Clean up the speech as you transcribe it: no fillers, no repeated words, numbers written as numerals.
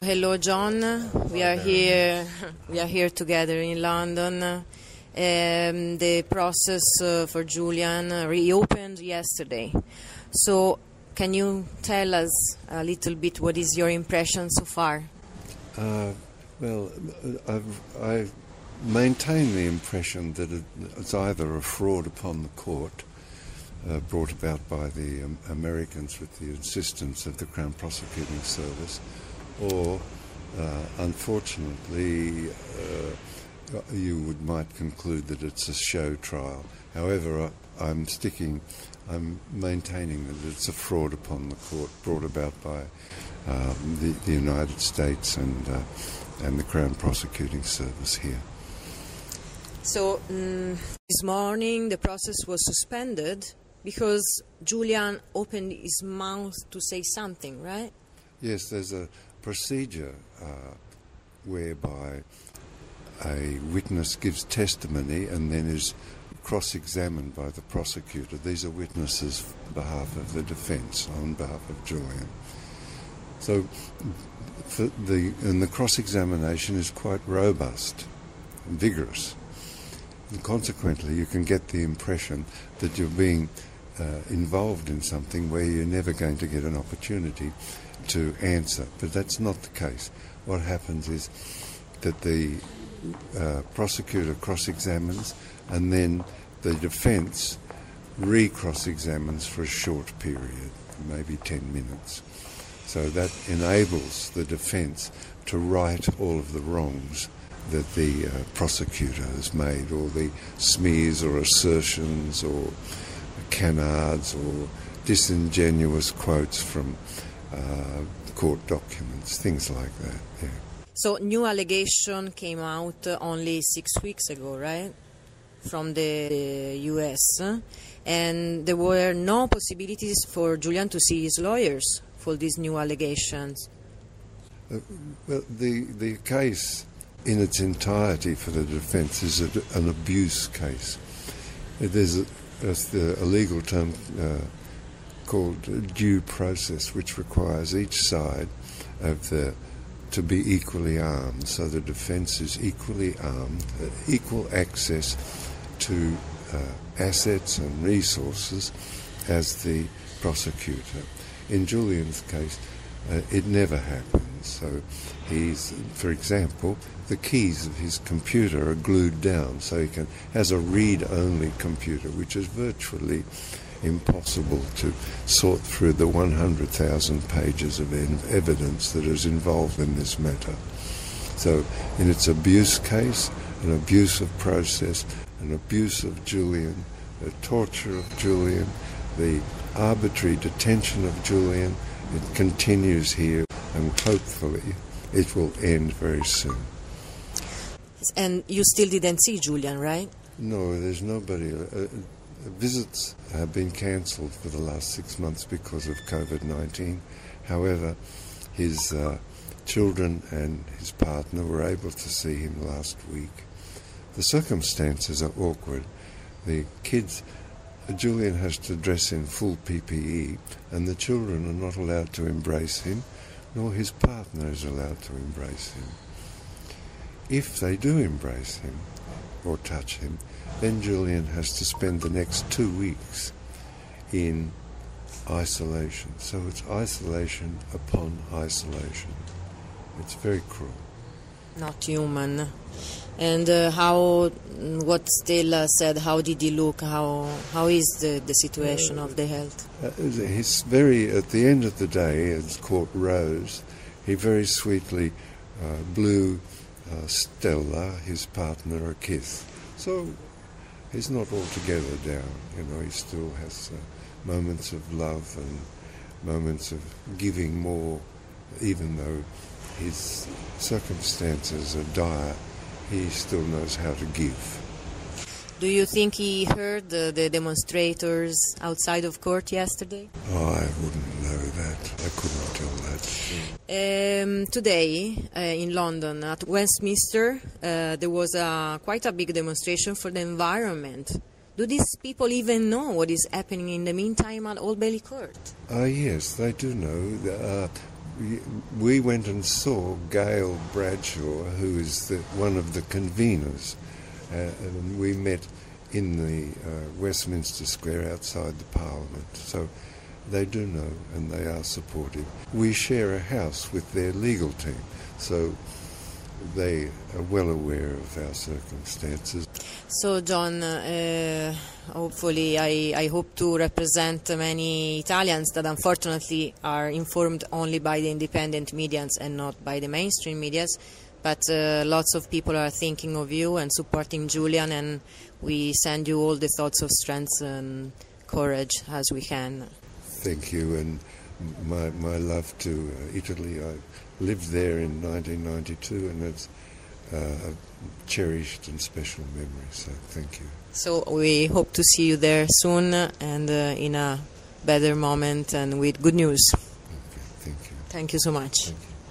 Hello, John. We are here. We are here together in London. The process for Julian reopened yesterday. So, can you tell us a little bit what is your impression so far? Well, I maintain the impression that it's either a fraud upon the court, brought about by the Americans with the insistence of the Crown Prosecuting Service, or unfortunately you might conclude that it's a show trial. However, I'm maintaining that it's a fraud upon the court brought about by the United States and the Crown Prosecuting Service here. So this morning the process was suspended because Julian opened his mouth to say something, right? Yes, there's a procedure whereby a witness gives testimony and then is cross-examined by the prosecutor. These are witnesses on behalf of the defence, on behalf of Julian. So the cross-examination is quite robust and vigorous. And consequently, you can get the impression that you're being involved in something where you're never going to get an opportunity to answer. But that's not the case. What happens is that the prosecutor cross-examines and then the defence re-cross-examines for a short period, maybe 10 minutes. So that enables the defence to right all of the wrongs that the prosecutor has made, all the smears or assertions or canards or disingenuous quotes from court documents, things like that. Yeah. So new allegation came out only 6 weeks ago, right, from the US, and there were no possibilities for Julian to see his lawyers for these new allegations. Well, the case in its entirety for the defence is an abuse case. There's a legal term called due process, which requires each side to be equally armed. So the defence is equally armed, equal access to assets and resources as the prosecutor. In Julian's case, it never happens. So for example, the keys of his computer are glued down, so he has a read-only computer, which is virtually impossible to sort through the 100,000 pages of evidence that is involved in this matter. So in its abuse case, an abuse of process, an abuse of Julian, the torture of Julian, the arbitrary detention of Julian, it continues here, and hopefully it will end very soon. And you still didn't see Julian, right? No, there's nobody. Visits have been cancelled for the last 6 months because of COVID-19. However, his children and his partner were able to see him last week. The circumstances are awkward. The kids, Julian has to dress in full PPE, and the children are not allowed to embrace him, nor his partner is allowed to embrace him. If they do embrace him or touch him, then Julian has to spend the next 2 weeks in isolation. So it's isolation upon isolation. It's very cruel. Not human. And what Stella said, how did he look? How is the situation of the health? He's at the end of the day, as court rose, he very sweetly blew Stella, his partner, a kiss. So he's not altogether down. He still has moments of love and moments of giving more, even though his circumstances are dire. He still knows how to give. Do you think he heard the demonstrators outside of court yesterday? Oh, I wouldn't know that. I couldn't tell that. Today, in London, at Westminster, there was quite a big demonstration for the environment. Do these people even know what is happening in the meantime at Old Bailey Court? Yes, they do know. we went and saw Gail Bradshaw, who is one of the conveners, and we met in the Westminster Square outside the Parliament. So they do know and they are supportive. We share a house with their legal team, so they are well aware of our circumstances. So, John, hopefully I hope to represent many Italians that unfortunately are informed only by the independent medias and not by the mainstream medias. But lots of people are thinking of you and supporting Julian, and we send you all the thoughts of strength and courage as we can. Thank you, and my love to Italy. I lived there in 1992, and it's a cherished and special memory, so thank you. So we hope to see you there soon and in a better moment and with good news. Okay, thank you. Thank you so much. Thank you.